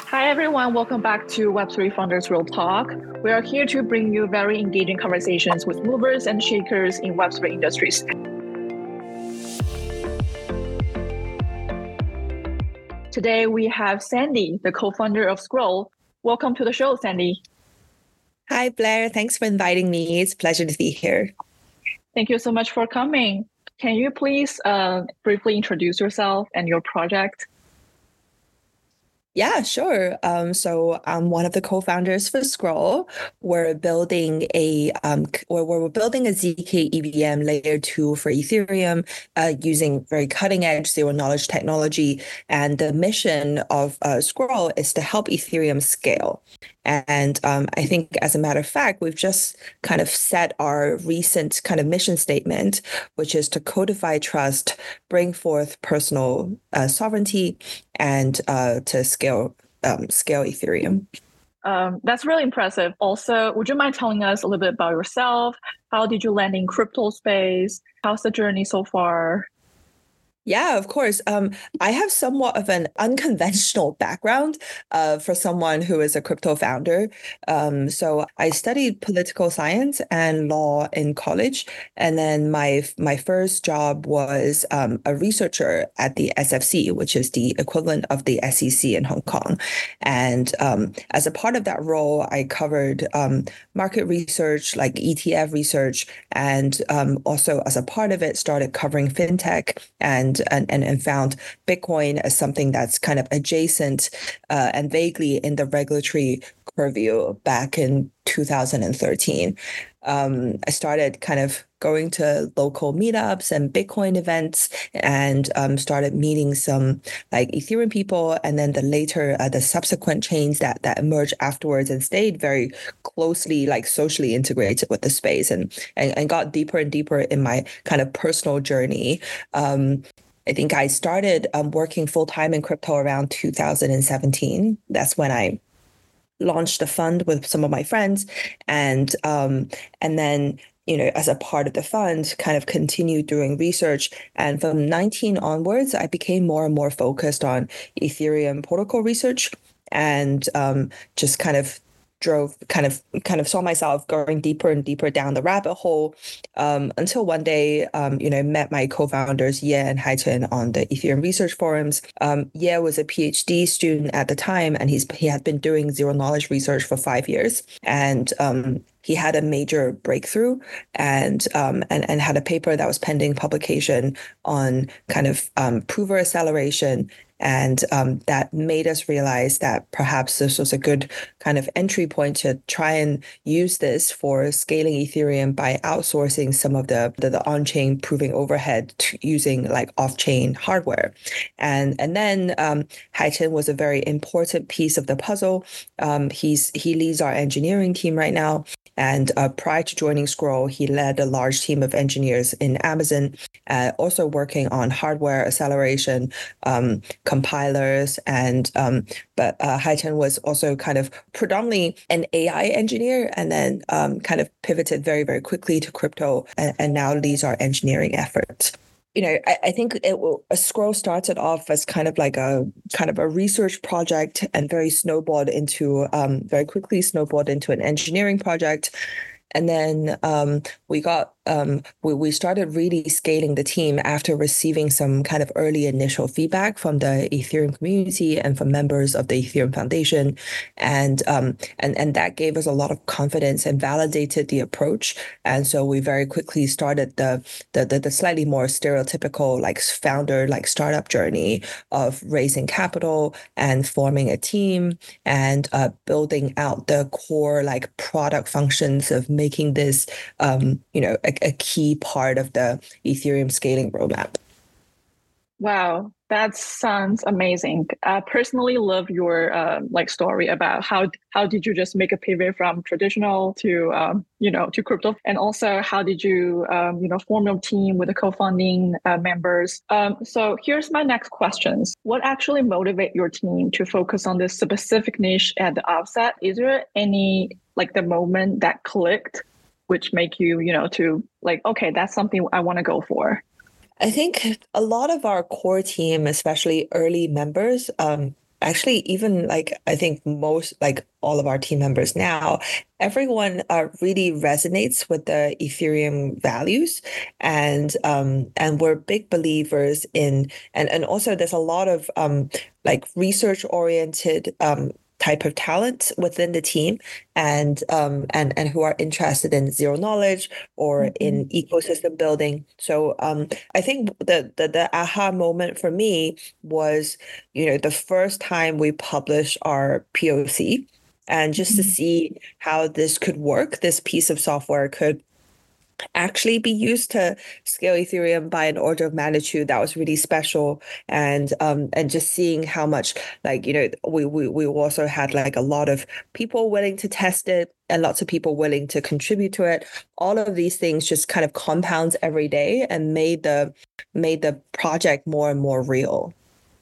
Hi, everyone. Welcome back to Web3 Founders Real Talk. We are here to bring you very engaging conversations with movers and shakers in Web3 industries. Today, we have Sandy, the co-founder of Scroll. Welcome to the show, Sandy. Hi, Blair. Thanks for inviting me. It's a pleasure to be here. Thank you so much for coming. Can you please briefly introduce yourself and your project? Yeah, sure. So I'm one of the co-founders for Scroll. We're building we're building a ZK EVM layer 2 for Ethereum using very cutting edge zero knowledge technology. And the mission of Scroll is to help Ethereum scale. And I think, as a matter of fact, we've just kind of set our recent kind of mission statement, which is to codify trust, bring forth personal sovereignty, and to scale Ethereum. That's really impressive. Also, would you mind telling us a little bit about yourself? How did you land in crypto space? How's the journey so far? Yeah, of course. I have somewhat of an unconventional background for someone who is a crypto founder. So I studied political science and law in college, and then my first job was a researcher at the SFC, which is the equivalent of the SEC in Hong Kong. And as a part of that role, I covered market research, like ETF research, and also as a part of it, started covering fintech and found Bitcoin as something that's kind of adjacent and vaguely in the regulatory purview back in 2013. I started kind of going to local meetups and Bitcoin events and started meeting some like Ethereum people, and then the subsequent chains that emerged afterwards, and stayed very closely like socially integrated with the space, and got deeper and deeper in my kind of personal journey. I think I started working full time in crypto around 2017. That's when I launched a fund with some of my friends, and then as a part of the fund, kind of continued doing research. And from 19 onwards, I became more and more focused on Ethereum protocol research, and just kind of saw myself going deeper and deeper down the rabbit hole, until one day, met my co-founders Ye and Haichen on the Ethereum research forums. Ye was a PhD student at the time, and he had been doing zero knowledge research for 5 years, and he had a major breakthrough, and had a paper that was pending publication on kind of prover acceleration. And that made us realize that perhaps this was a good kind of entry point to try and use this for scaling Ethereum by outsourcing some of the on-chain proving overhead to using like off-chain hardware. And then Haichen was a very important piece of the puzzle. He leads our engineering team right now. And prior to joining Scroll, he led a large team of engineers in Amazon, also working on hardware acceleration, compilers, and but Haichen was also kind of predominantly an AI engineer, and then kind of pivoted very, very quickly to crypto, and now leads our engineering efforts. I think a Scroll started off as kind of a research project, and very quickly snowballed into an engineering project. And then we started really scaling the team after receiving some kind of early initial feedback from the Ethereum community and from members of the Ethereum Foundation, and that gave us a lot of confidence and validated the approach. And so we very quickly started the slightly more stereotypical like founder like startup journey of raising capital and forming a team, and building out the core like product functions of making this a key part of the Ethereum scaling roadmap. Wow, that sounds amazing. I personally love your story about how did you just make a pivot from traditional to to crypto, and also how did you form your team with the co-founding members. So here's my next questions. What actually motivate your team to focus on this specific niche at the outset? Is there any like the moment that clicked, which make you to like, okay, that's something I want to go for? I think a lot of our core team, especially early members, actually even like I think most like all of our team members now, everyone really resonates with the Ethereum values, and we're big believers in and also there's a lot of like research oriented type of talent within the team and who are interested in zero knowledge or Mhm. in ecosystem building. So I think the aha moment for me was, the first time we published our POC and just to Mhm. see how this could work, this piece of software could actually be used to scale Ethereum by an order of magnitude. That was really special. And just seeing how much like, we also had like a lot of people willing to test it and lots of people willing to contribute to it. All of these things just kind of compounds every day and made the project more and more real.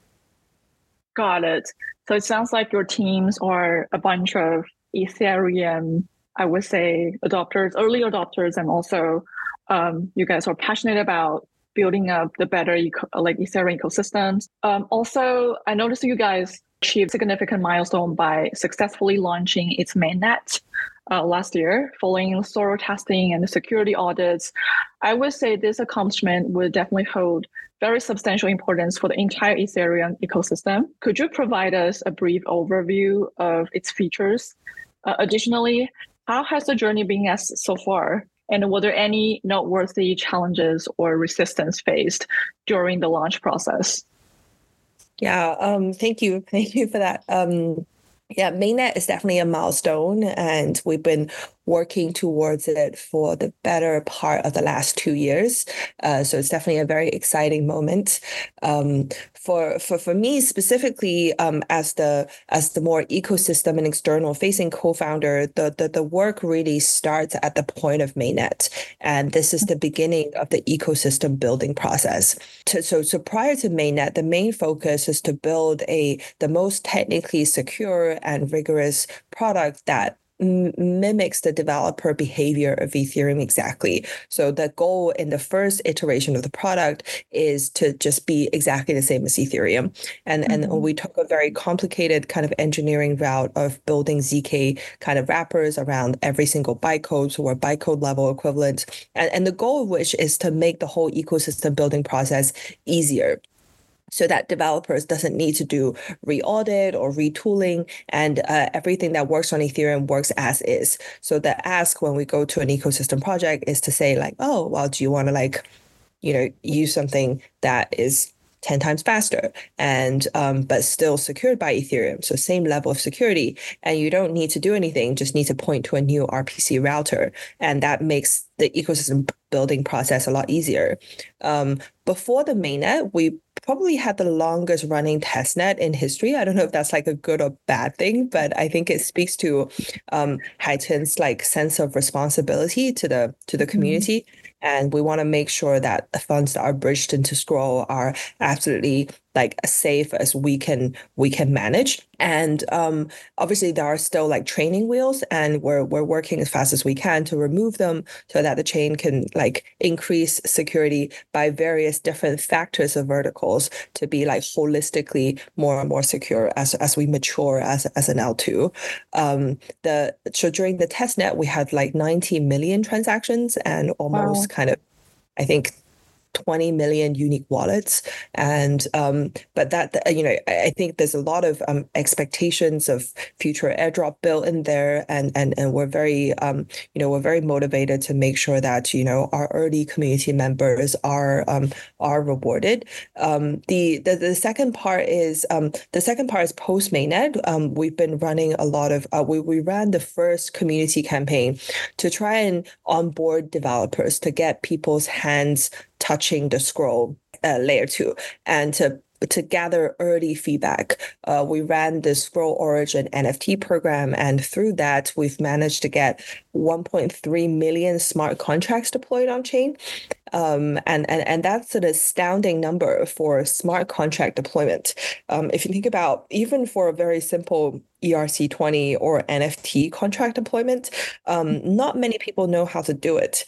Got it. So it sounds like your teams are a bunch of Ethereum, I would say, adopters, early adopters, and also you guys are passionate about building up the better like Ethereum ecosystems. Also, I noticed you guys achieved significant milestone by successfully launching its mainnet last year, following thorough testing and security audits. I would say this accomplishment would definitely hold very substantial importance for the entire Ethereum ecosystem. Could you provide us a brief overview of its features? Additionally, how has the journey been as so far? And were there any noteworthy challenges or resistance faced during the launch process? Yeah, thank you. Thank you for that. Yeah, mainnet is definitely a milestone, and we've been working towards it for the better part of the last 2 years. So it's definitely a very exciting moment. For me specifically, as the more ecosystem and external facing co-founder, the work really starts at the point of mainnet, and this is the beginning of the ecosystem building process. So prior to mainnet, the main focus is to build the most technically secure and rigorous product that mimics the developer behavior of Ethereum exactly. So the goal in the first iteration of the product is to just be exactly the same as Ethereum. And Mhm. we took a very complicated kind of engineering route of building ZK kind of wrappers around every single bytecode, so we're bytecode level equivalent. And the goal of which is to make the whole ecosystem building process easier so that developers doesn't need to do re-audit or retooling, and everything that works on Ethereum works as is. So the ask when we go to an ecosystem project is to say like, oh, well, do you want to like, use something that is 10 times faster and but still secured by Ethereum. So same level of security. And you don't need to do anything, just need to point to a new RPC router. And that makes the ecosystem building process a lot easier. Before the mainnet, we probably had the longest running testnet in history. I don't know if that's like a good or bad thing, but I think it speaks to Haitun's like sense of responsibility to the Mhm. community. And we want to make sure that the funds that are bridged into Scroll are absolutely like as safe as we can manage. And obviously there are still like training wheels, and we're working as fast as we can to remove them so that the chain can like increase security by various different factors of verticals to be like holistically more and more secure as we mature as an L2. So during the test net we had like 90 million transactions and almost Wow. kind of I think 20 million unique wallets. And but I think there's a lot of expectations of future airdrop built in there, and we're very motivated to make sure that our early community members are rewarded. The second part is post mainnet. We've been running a lot of we ran the first community campaign to try and onboard developers to get people's hands touching the scroll layer 2 and to gather early feedback. We ran the Scroll Origin NFT program, and through that, we've managed to get 1.3 million smart contracts deployed on chain. And that's an astounding number for smart contract deployment. If you think about even for a very simple ERC20 or NFT contract deployment, not many people know how to do it.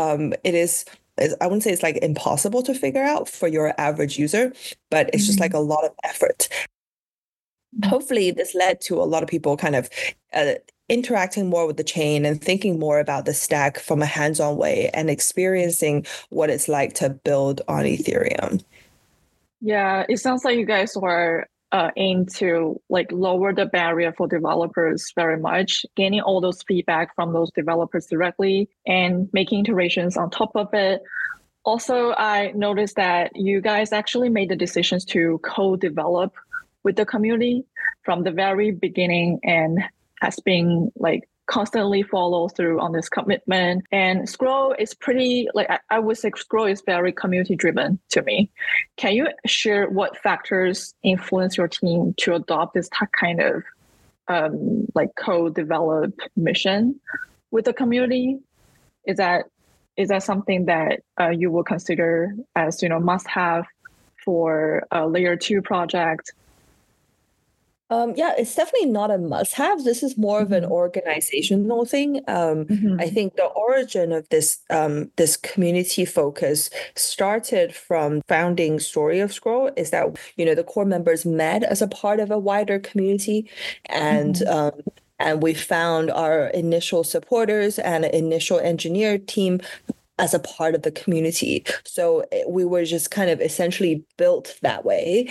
I wouldn't say it's like impossible to figure out for your average user, but it's just like Mhm. a lot of effort. hopefully this led to a lot of people kind of interacting more with the chain and thinking more about the stack from a hands-on way and experiencing what it's like to build on Ethereum. Yeah, it sounds like you guys were aim to like lower the barrier for developers very much, gaining all those feedback from those developers directly and making iterations on top of it. Also, I noticed that you guys actually made the decisions to co-develop with the community from the very beginning and has been like constantly follow through on this commitment. And Scroll is pretty, like I would say Scroll is very community driven to me. Can you share what factors influence your team to adopt this kind of like co-develop mission with the community? Is that something that you will consider as must have for a layer 2 project? Yeah, it's definitely not a must-have. This is more of an organizational thing. I think the origin of this community focus started from founding story of Scroll is that, the core members met as a part of a wider community, and we found our initial supporters and initial engineer team as a part of the community. So we were just kind of essentially built that way.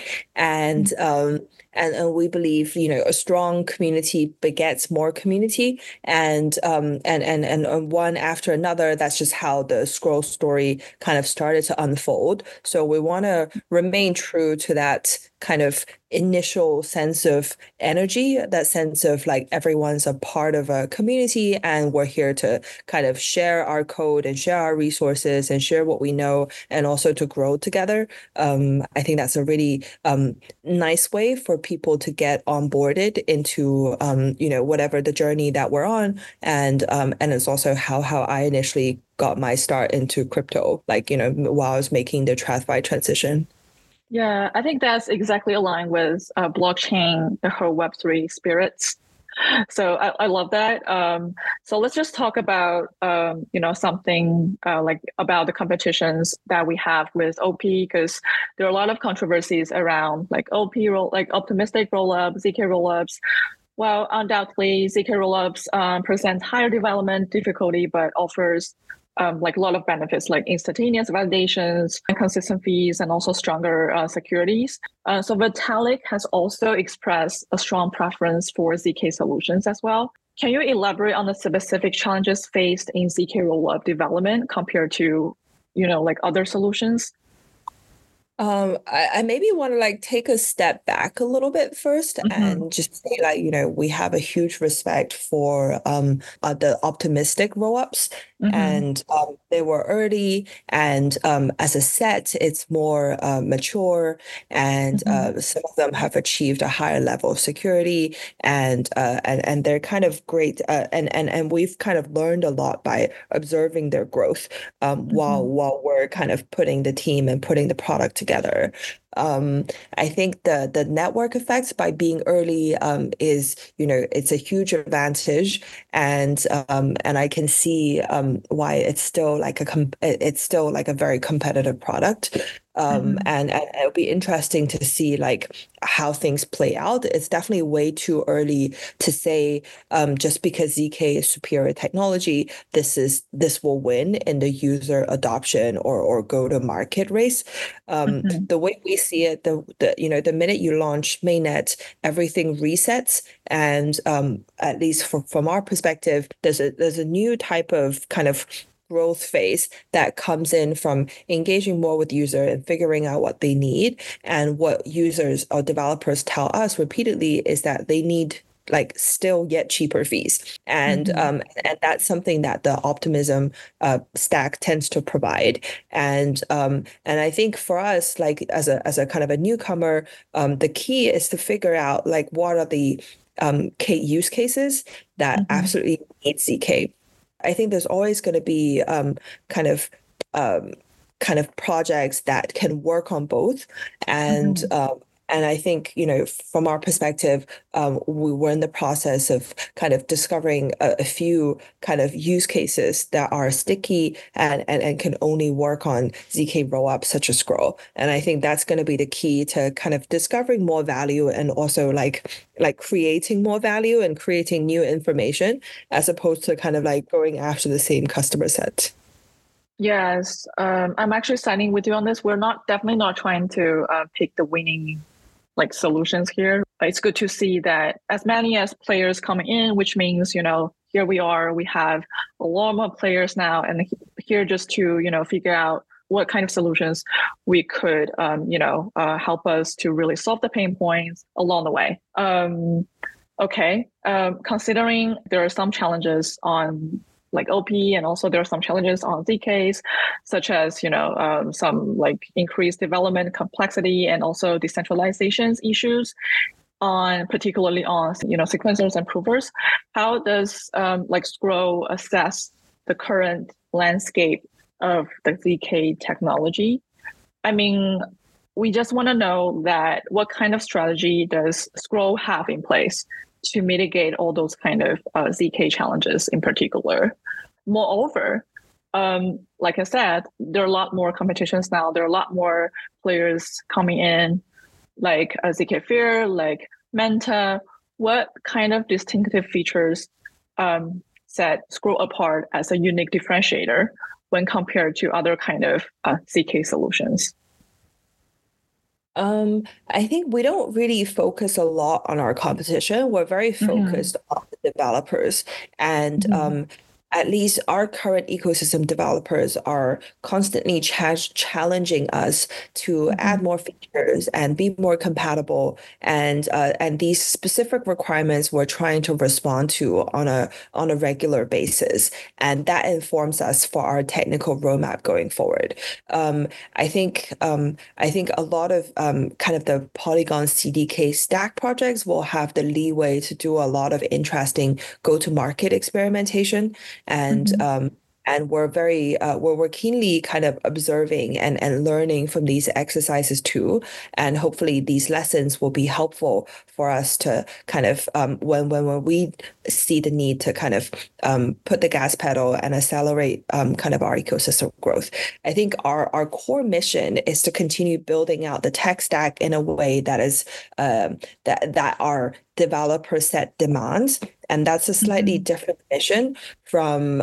And we believe, a strong community begets more community, and one after another. That's just how the Scroll story kind of started to unfold. So we want to remain true to that kind of initial sense of energy, that sense of like everyone's a part of a community and we're here to kind of share our code and share our resources and share what we know and also to grow together. I think that's a really nice way for people to get onboarded into whatever the journey that we're on, and it's also how I initially got my start into crypto, like while I was making the TradFi transition. Yeah, I think that's exactly aligned with blockchain, the whole Web3 spirits. So I love that. So let's just talk about something like about the competitions that we have with OP, because there are a lot of controversies around like OP like optimistic rollup, ZK rollups. Well, undoubtedly, ZK rollups present higher development difficulty, but offers like a lot of benefits like instantaneous validations and consistent fees and also stronger securities. So Vitalik has also expressed a strong preference for ZK solutions as well. Can you elaborate on the specific challenges faced in ZK rollup development compared to, like other solutions? I maybe want to like take a step back a little bit first and just say like, we have a huge respect for the optimistic roll-ups, and they were early, and as a set, it's more mature, and some of them have achieved a higher level of security, and they're kind of great, and we've kind of learned a lot by observing their growth while we're kind of putting the team and putting the product together. I think the network effects by being early is, it's a huge advantage, and I can see why it's still like a very competitive product. And it'll be interesting to see like how things play out. It's definitely way too early to say just because ZK is superior technology, this will win in the user adoption or go to market race. The way we see it, the minute you launch mainnet, everything resets, and at least from our perspective, there's a new type of kind of growth phase that comes in from engaging more with user and figuring out what they need. And what users or developers tell us repeatedly is that they need like still yet cheaper fees. And that's something that the Optimism stack tends to provide. And I think for us, like as a kind of a newcomer, the key is to figure out like what are the use cases that absolutely need ZK. I think there's always going to be kind of projects that can work on both, and And I think, from our perspective, we were in the process of kind of discovering a few kind of use cases that are sticky and can only work on ZK rollup such as Scroll. And I think that's going to be the key to kind of discovering more value and also like creating more value and creating new information as opposed to kind of like going after the same customer set. Yes, I'm actually signing with you on this. We're definitely not trying to pick the winning like solutions here. It's good to see that as many as players coming in, which means, here we are, we have a lot more players now, and here just to, figure out what kind of solutions we could, help us to really solve the pain points along the way. Okay, considering there are some challenges on like OP, and also there are some challenges on ZKs, such as some like increased development complexity and also decentralization issues particularly on sequencers and provers. How does Scroll assess the current landscape of the ZK technology? I mean, we just want to know that what kind of strategy does Scroll have in place to mitigate all those kind of ZK challenges in particular. Moreover, like I said, there are a lot more competitions now. There are a lot more players coming in, like ZK-Fair, like Manta. What kind of distinctive features set Scroll apart as a unique differentiator when compared to other kind of ZK solutions? I think we don't really focus a lot on our competition. We're very focused on the developers. And at least our current ecosystem developers are constantly challenging us to add more features and be more compatible. And these specific requirements we're trying to respond to on a regular basis. And that informs us for our technical roadmap going forward. I think a lot of kind of the Polygon CDK stack projects will have the leeway to do a lot of interesting go-to-market experimentation, and we're keenly kind of observing and learning from these exercises too. And hopefully these lessons will be helpful for us to kind of when we see the need to kind of put the gas pedal and accelerate kind of our ecosystem growth. I think our core mission is to continue building out the tech stack in a way that is that our developer set demands. And that's a slightly different mission from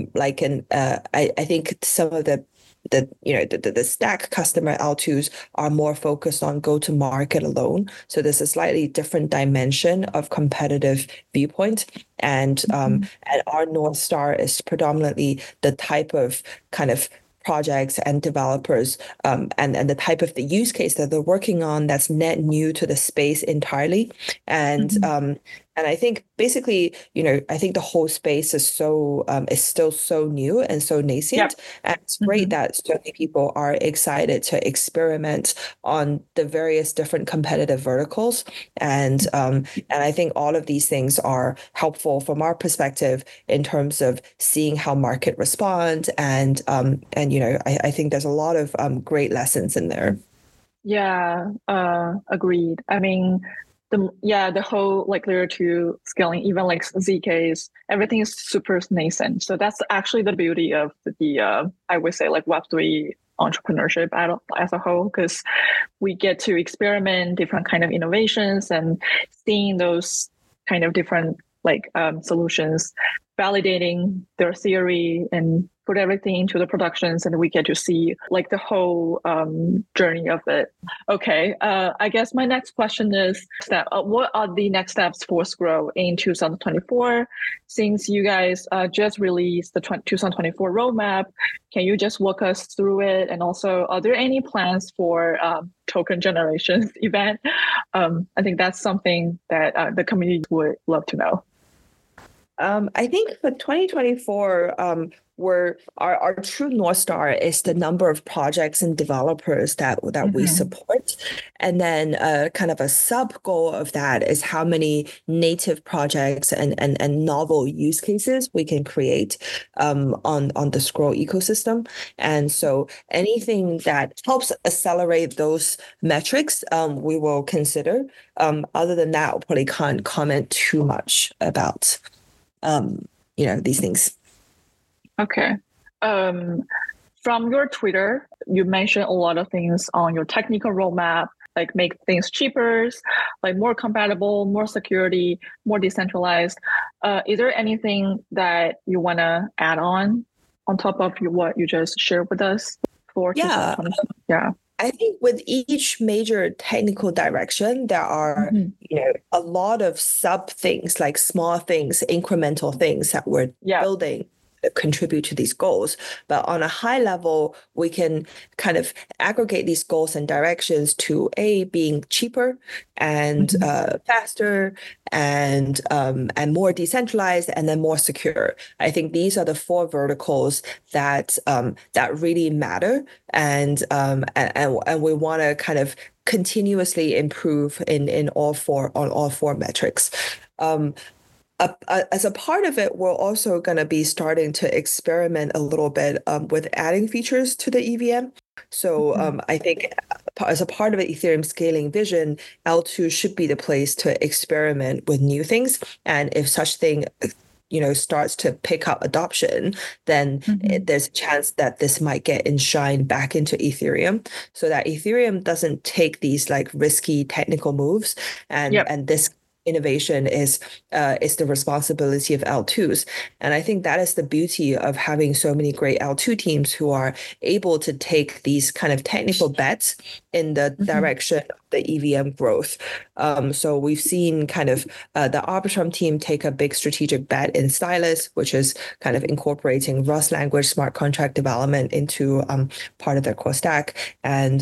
I think some of the stack customer L2s are more focused on go to market alone. So there's a slightly different dimension of competitive viewpoint. And our North Star is predominantly the type of kind of projects and developers and the type of the use case that they're working on that's net new to the space entirely. And I think basically, I think the whole space is still so new and so nascent. Yep. And it's great that so many people are excited to experiment on the various different competitive verticals. And I think all of these things are helpful from our perspective in terms of seeing how market responds. And I think there's a lot of great lessons in there. Yeah, agreed. I mean, the whole like layer 2 scaling, even like ZKs, everything is super nascent. So that's actually the beauty of the I would say like Web3 entrepreneurship as a whole, because we get to experiment different kind of innovations and seeing those kind of different like solutions, validating their theory and put everything into the productions, and we get to see like the whole journey of it. Okay, I guess my next question is that what are the next steps for Scroll in 2024? Since you guys just released the 2024 roadmap, can you just walk us through it? And also, are there any plans for token generation event? I think that's something that the community would love to know. I think for 2024, our true North Star is the number of projects and developers that we Hmm. support. And then kind of a sub goal of that is how many native projects and novel use cases we can create on the Scroll ecosystem. And so anything that helps accelerate those metrics, we will consider. Other than that, I probably can't comment too much about these things. Okay. Um, from your Twitter, you mentioned a lot of things on your technical roadmap, like make things cheaper, like more compatible, more security, more decentralized. Is there anything that you want to add on top of what you just shared with us for Yeah, 2020? Yeah. I think with each major technical direction, there are, Hmm. a lot of sub things, like small things, incremental things that we're Yeah. building that contribute to these goals. But on a high level, we can kind of aggregate these goals and directions to A, being cheaper and Hmm. faster and more decentralized and then more secure. I think these are the four verticals that really matter and we want to kind of continuously improve in all four metrics. Um, as a part of it, we're also going to be starting to experiment a little bit with adding features to the EVM. So Hmm. I think as a part of the Ethereum scaling vision, L2 should be the place to experiment with new things. And if such thing starts to pick up adoption, then Hmm. there's a chance that this might get enshrined back into Ethereum so that Ethereum doesn't take these like risky technical moves and Yep. and this innovation is the responsibility of L2s. And I think that is the beauty of having so many great L2 teams who are able to take these kind of technical bets in the Hmm. direction of the EVM growth. So we've seen kind of the Arbitrum team take a big strategic bet in Stylus, which is kind of incorporating Rust language smart contract development into part of their core stack.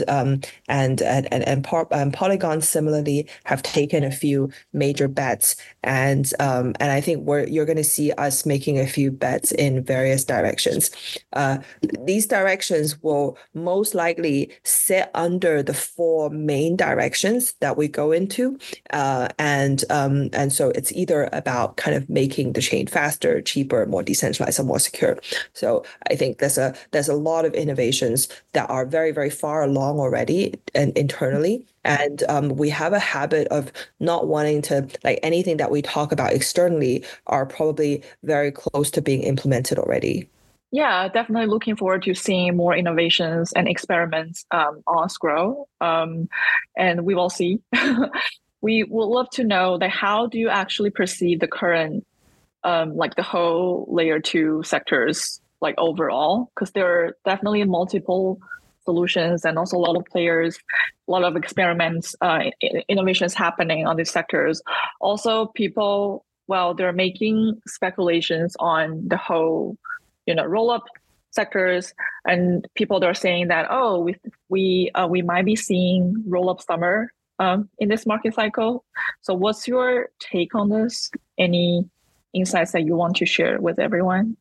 And Polygon similarly have taken a few major bets, and I think you're going to see us making a few bets in various directions. These directions will most likely sit under the four main directions that we go into, and so it's either about kind of making the chain faster, cheaper, more decentralized, and more secure. So I think there's a lot of innovations that are very, very far along already and internally. And we have a habit of not wanting to, like anything that we talk about externally are probably very close to being implemented already. Yeah, definitely looking forward to seeing more innovations and experiments on Scroll. And we will see. We would love to know that how do you actually perceive the current, like the whole layer two sectors, like overall? Because there are definitely multiple solutions and also a lot of players, a lot of experiments, innovations happening on these sectors. Also, people, well, they're making speculations on the whole roll up sectors, and people are saying that, oh, we might be seeing roll up summer in this market cycle. So what's your take on this? Any insights that you want to share with everyone?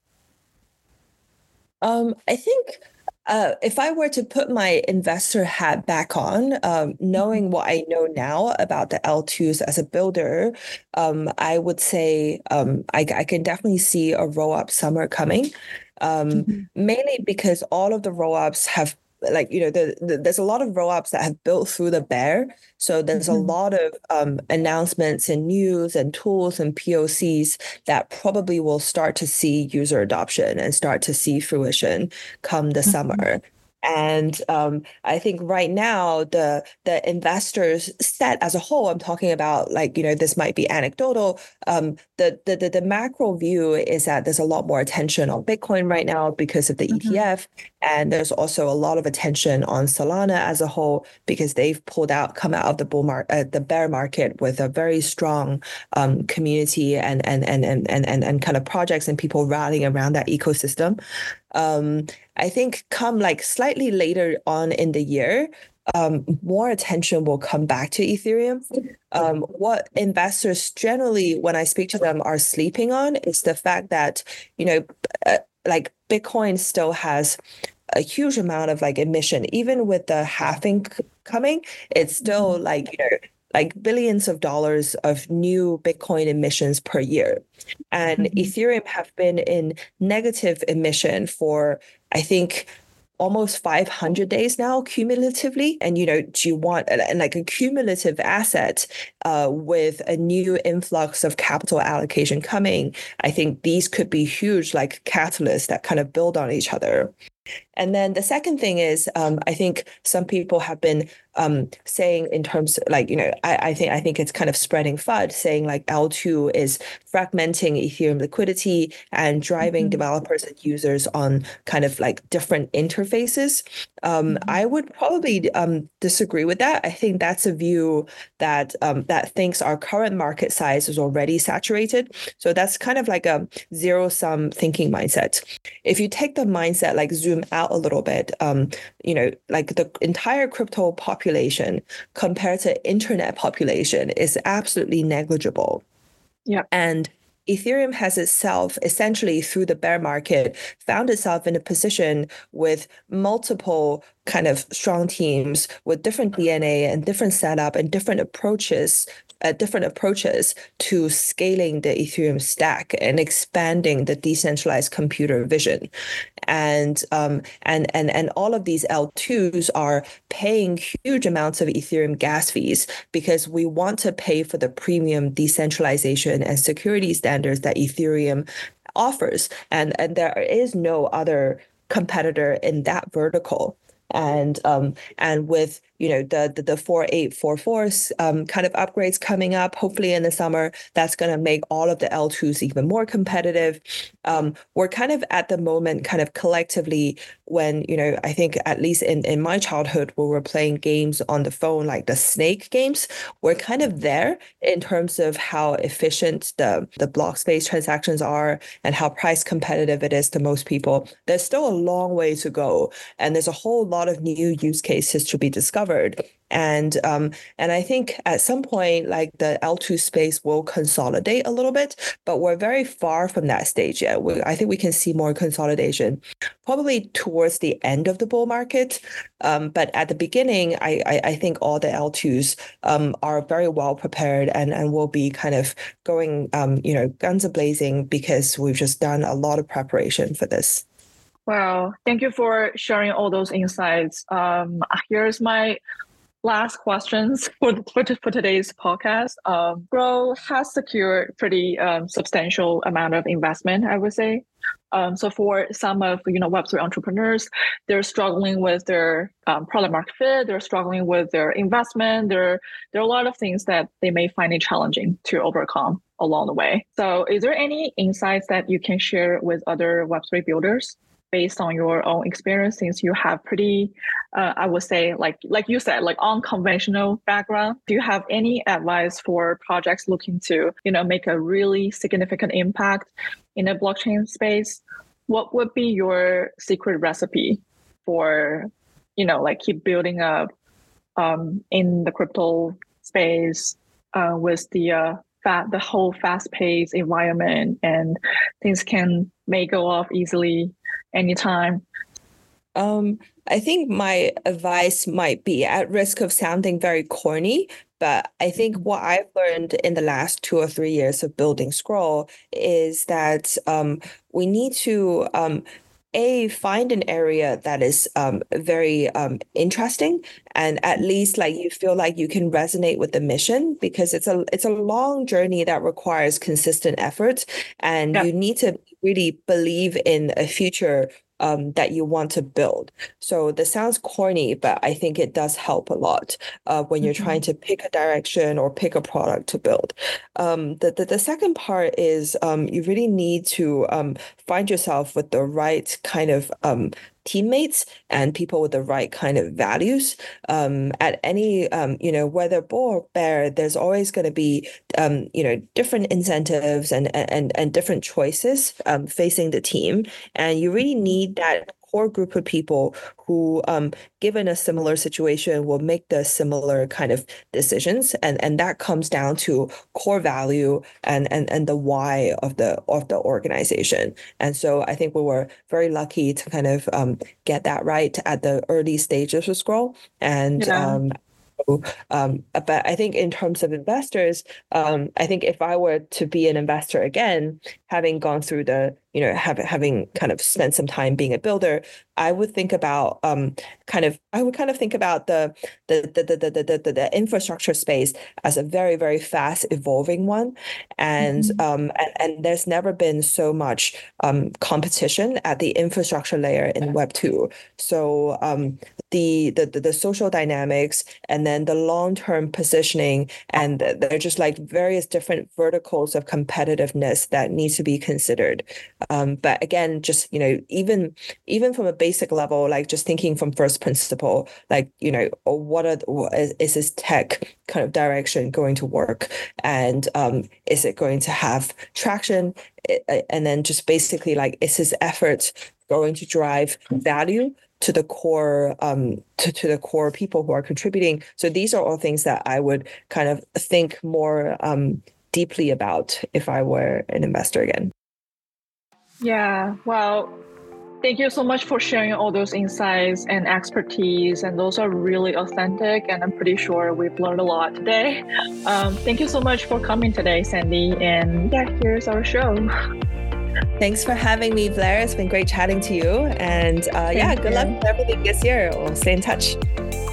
I think if I were to put my investor hat back on, knowing what I know now about the L2s as a builder, I would say I can definitely see a roll-up summer coming, Mhm. mainly because all of the roll-ups have like there's a lot of roll-ups that have built through the bear. So there's a Mhm. lot of announcements and news and tools and POCs that probably will start to see user adoption and start to see fruition come the Mhm. summer. And I think right now the investors set as a whole, I'm talking about like, this might be anecdotal. The macro view is that there's a lot more attention on Bitcoin right now because of the Mhm. ETF. And there's also a lot of attention on Solana as a whole because they've come out of the bear market with a very strong community and kind of projects and people rallying around that ecosystem. I think come like slightly later on in the year, more attention will come back to Ethereum. What investors generally, when I speak to them, are sleeping on is the fact that, like Bitcoin still has a huge amount of like emission, even with the halving coming, it's still like billions of dollars of new Bitcoin emissions per year. And Ethereum have been in negative emission for, I think, almost 500 days now cumulatively. And, do you want and like a cumulative asset with a new influx of capital allocation coming? I think these could be huge like catalysts that kind of build on each other. And then the second thing is, I think some people have been saying in terms like, I think it's kind of spreading FUD, saying like L2 is fragmenting Ethereum liquidity and driving developers and users on kind of like different interfaces. I would probably disagree with that. I think that's a view that that thinks our current market size is already saturated. So that's kind of like a zero-sum thinking mindset. If you take the mindset, like zoom out a little bit, like the entire crypto population compared to internet population is absolutely negligible. Yeah. And Ethereum has itself essentially through the bear market found itself in a position with multiple kind of strong teams with different DNA and different setup and different approaches to scaling the Ethereum stack and expanding the decentralized computer vision. And all of these L2s are paying huge amounts of Ethereum gas fees because we want to pay for the premium decentralization and security standards that Ethereum offers. And there is no other competitor in that vertical. And with the 4844 kind of upgrades coming up, hopefully in the summer, that's going to make all of the L2s even more competitive. We're kind of at the moment, kind of collectively, when I think at least in my childhood, where we're playing games on the phone, like the Snake games, we're kind of there in terms of how efficient the block space transactions are and how price competitive it is to most people. There's still a long way to go, and there's a whole lot of new use cases to be discovered. And I think at some point, like the L2 space will consolidate a little bit, but we're very far from that stage yet. I think we can see more consolidation probably towards the end of the bull market. But at the beginning, I think all the L2s are very well prepared and will be kind of going, guns a-blazing because we've just done a lot of preparation for this. Wow. Thank you for sharing all those insights. Here's my last questions for today's podcast. Grow has secured pretty substantial amount of investment, I would say. So for some of Web3 entrepreneurs, they're struggling with their product market fit. They're struggling with their investment. There are a lot of things that they may find it challenging to overcome along the way. So is there any insights that you can share with other Web3 builders based on your own experience, since you have pretty, I would say, like you said, like unconventional background? Do you have any advice for projects looking to, make a really significant impact in a blockchain space? What would be your secret recipe for, like keep building up in the crypto space with the whole fast-paced environment, and things may go off easily anytime? I think my advice might be at risk of sounding very corny, but I think what I've learned in the last 2 or 3 years of building Scroll is that we need to find an area that is very interesting, and at least like you feel like you can resonate with the mission, because it's a long journey that requires consistent effort, and you need to really believe in a future that you want to build. So this sounds corny, but I think it does help a lot when you're trying to pick a direction or pick a product to build. The second part is you really need to find yourself with the right kind of teammates and people with the right kind of values. At any, whether bull or bear, there's always going to be, different incentives and different choices facing the team. And you really need that core group of people who, given a similar situation, will make the similar kind of decisions, and that comes down to core value and the why of the organization. And so I think we were very lucky to kind of get that right at the early stages of Scroll. And Yeah. but I think in terms of investors, I think if I were to be an investor again, having gone through the, having kind of spent some time being a builder, I would think about think about the infrastructure space as a very, very fast evolving one. And and there's never been so much competition at the infrastructure layer in Web 2. So the social dynamics and then the long-term positioning, and they're just like various different verticals of competitiveness that need to be considered. But again, just, even from a basic level, like just thinking from first principle, like, is this tech kind of direction going to work? And is it going to have traction? And then just basically like, is his effort going to drive value to the core to the core people who are contributing? So these are all things that I would kind of think more deeply about if I were an investor again. Yeah, well, thank you so much for sharing all those insights and expertise. And those are really authentic. And I'm pretty sure we've learned a lot today. Thank you so much for coming today, Sandy. And yeah, here's our show. Thanks for having me, Blair. It's been great chatting to you. And good luck with everything this year. We'll stay in touch.